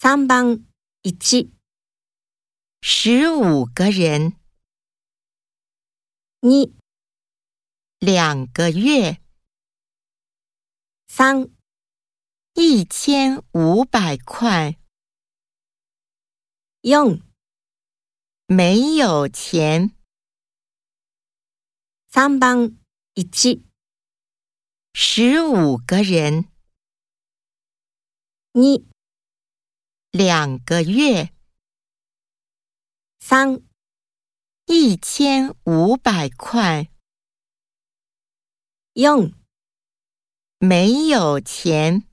3番1、 15个人 2、 2个月 3、 1500块 4、 没有钱 3番1、 15个人 2、 2个月 3、 1500块 4 没有钱